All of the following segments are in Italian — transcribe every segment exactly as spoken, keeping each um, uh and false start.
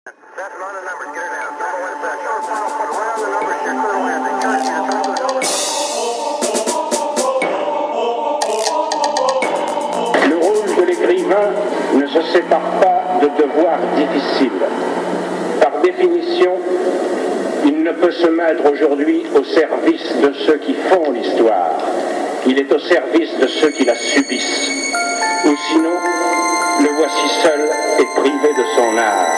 Le rôle de l'écrivain ne se sépare pas de devoirs difficiles. Par définition, il ne peut se mettre aujourd'hui au service de ceux qui font l'histoire. Il est au service de ceux qui la subissent. Ou sinon, le voici seul et privé de son art.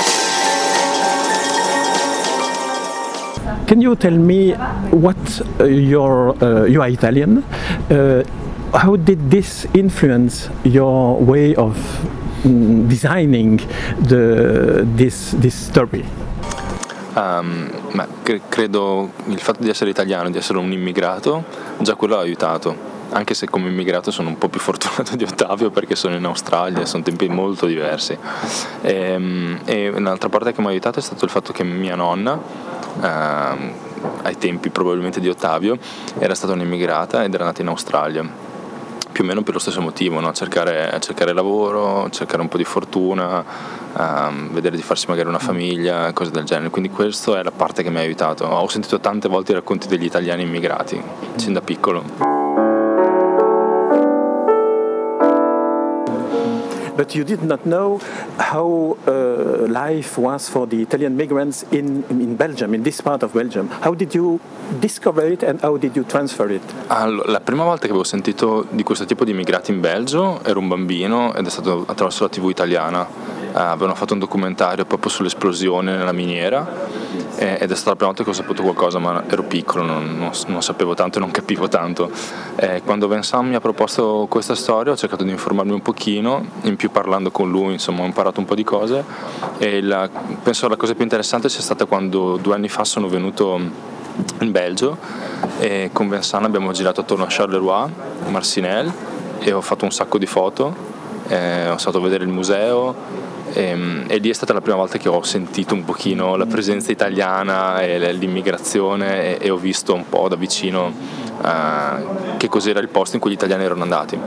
Can you tell me what uh, your uh, you are Italian? Uh, how did this influence your way of mm, designing the this this story? Um, ma cre- credo il fatto di essere italiano, di essere un immigrato, già quello ha aiutato. Anche se come immigrato sono un po' più fortunato di Ottavio perché sono in Australia, sono tempi molto diversi. E, e un'altra parte che mi ha aiutato è stato il fatto che mia nonna, eh, ai tempi probabilmente di Ottavio, era stata un'immigrata ed era nata in Australia, più o meno per lo stesso motivo, no? cercare, cercare lavoro, cercare un po' di fortuna, um, vedere di farsi magari una famiglia, cose del genere. Quindi questa è la parte che mi ha aiutato. Ho sentito tante volte i racconti degli italiani immigrati, sin da piccolo. But you did not know how uh, life was for the Italian migrants in, in Belgium, in this part of Belgium. How did you discover it and how did you transfer it? Allora, la prima volta che avevo sentito di questo tipo di immigrati in Belgio ero un bambino ed è stato attraverso la tivù italiana. Uh, avevano fatto un documentario proprio sull'esplosione nella miniera eh, ed è stata la prima volta che ho saputo qualcosa, ma ero piccolo, non, non, non sapevo tanto e non capivo tanto. Eh, quando Vincent mi ha proposto questa storia ho cercato di informarmi un pochino, in più parlando con lui, insomma ho imparato un po' di cose e la, penso la cosa più interessante sia stata quando due anni fa sono venuto in Belgio e con Vincent abbiamo girato attorno a Charleroi, Marcinelle e ho fatto un sacco di foto, eh, ho stato a vedere il museo. E, e lì è stata la prima volta che ho sentito un pochino la presenza italiana e l'immigrazione e, e ho visto un po' da vicino uh, che cos'era il posto in cui gli italiani erano andati.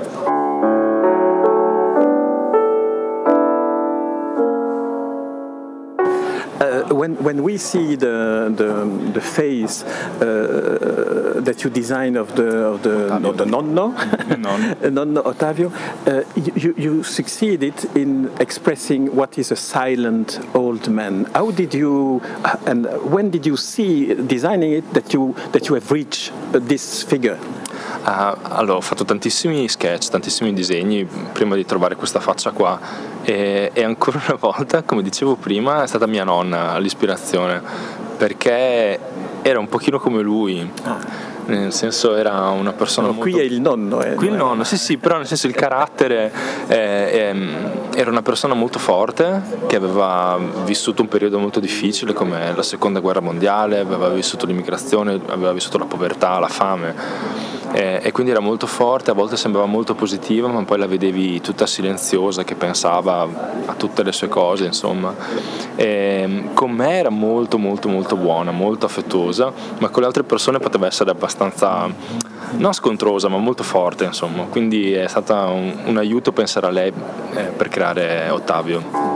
Uh, when when we see the the, the face uh, that you design of the of the, of the nonno nonno Ottavio, uh, you you succeeded in expressing what is a silent old man. How did you uh, and when did you see designing it that you that you have reached uh, this figure? Uh, allora ho fatto tantissimi sketch, tantissimi disegni prima di trovare questa faccia qua e, e ancora una volta, come dicevo prima, è stata mia nonna l'ispirazione perché era un pochino come lui. Ah. Nel senso era una persona no, molto... Qui è il nonno. Eh, qui il nonno, sì sì, però nel senso il carattere eh, eh, era una persona molto forte che aveva vissuto un periodo molto difficile come la seconda guerra mondiale, aveva vissuto l'immigrazione, aveva vissuto la povertà, la fame eh, e quindi era molto forte, a volte sembrava molto positiva ma poi la vedevi tutta silenziosa che pensava a tutte le sue cose, insomma. E, con me era molto molto molto buona, molto affettuosa, ma con le altre persone poteva essere abbastanza non scontrosa ma molto forte, insomma, quindi è stata un, un aiuto pensare a lei eh, per creare Ottavio.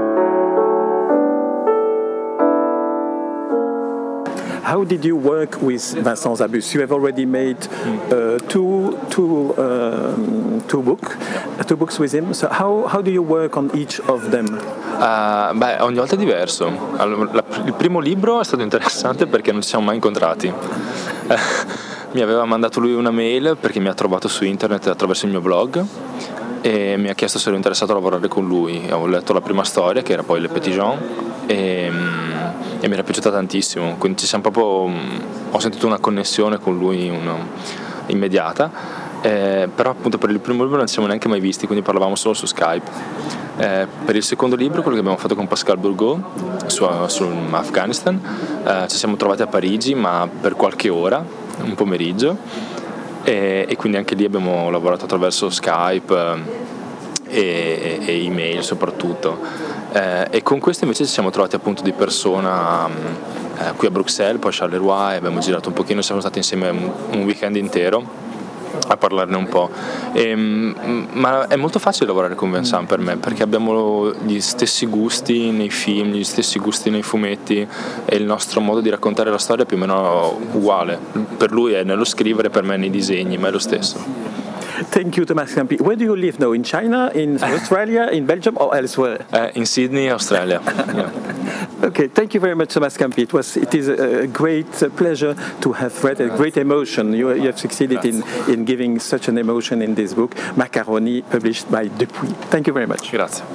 How did you work with Vincent Zabus? You have already made uh, two two um, two book two books with him. So how how do you work on each of them? Uh, beh, ogni volta è diverso. Allora, la, il primo libro è stato interessante perché non ci siamo mai incontrati. Mi aveva mandato lui una mail perché mi ha trovato su internet attraverso il mio blog e mi ha chiesto se ero interessato a lavorare con lui. Ho letto la prima storia che era poi Le Petit Jean e, e mi era piaciuta tantissimo, quindi ci siamo proprio, ho sentito una connessione con lui una, immediata, eh, però appunto per il primo libro non ci siamo neanche mai visti, quindi parlavamo solo su Skype. Eh, per il secondo libro, quello che abbiamo fatto con Pascal Bourgault su, sull'Afghanistan, eh, ci siamo trovati a Parigi ma per qualche ora, un pomeriggio, e, e quindi anche lì abbiamo lavorato attraverso Skype e, e email soprattutto, eh, e con questo invece ci siamo trovati appunto di persona eh, qui a Bruxelles, poi a Charleroi, e abbiamo girato un pochino, siamo stati insieme un, un weekend intero a parlarne un po'. E, ma è molto facile lavorare con Vincent per me, perché abbiamo gli stessi gusti nei film, gli stessi gusti nei fumetti, e il nostro modo di raccontare la storia è più o meno uguale. Per lui è nello scrivere, per me nei disegni, ma è lo stesso. Thank you, Thomas Campi. Where do you live now? In China, in Australia, in Belgium, or elsewhere? Uh, in Sydney, Australia. Yeah. Okay, thank you very much, Thomas Campi. It was, it is a great pleasure to have read a great emotion. You, you have succeeded in, in giving such an emotion in this book, Macaroni, published by Dupuis. Thank you very much. Grazie.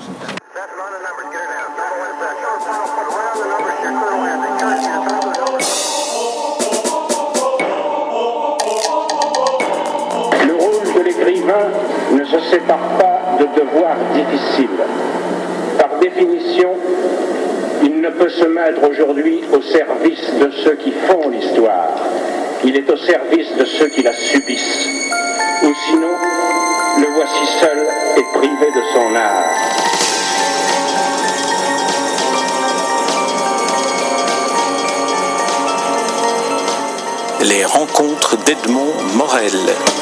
Ne se sépare pas de devoirs difficiles. Par définition, il ne peut se mettre aujourd'hui au service de ceux qui font l'histoire. Il est au service de ceux qui la subissent. Ou sinon, le voici seul et privé de son art. Les rencontres d'Edmond Morel.